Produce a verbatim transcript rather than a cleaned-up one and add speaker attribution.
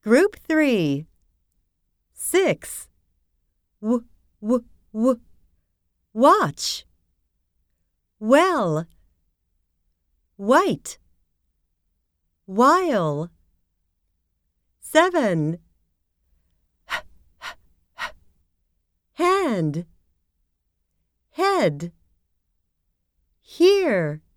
Speaker 1: Group three. Six. W, w, w. Watch. Well. White. While. Seven. Hand. Head. Here.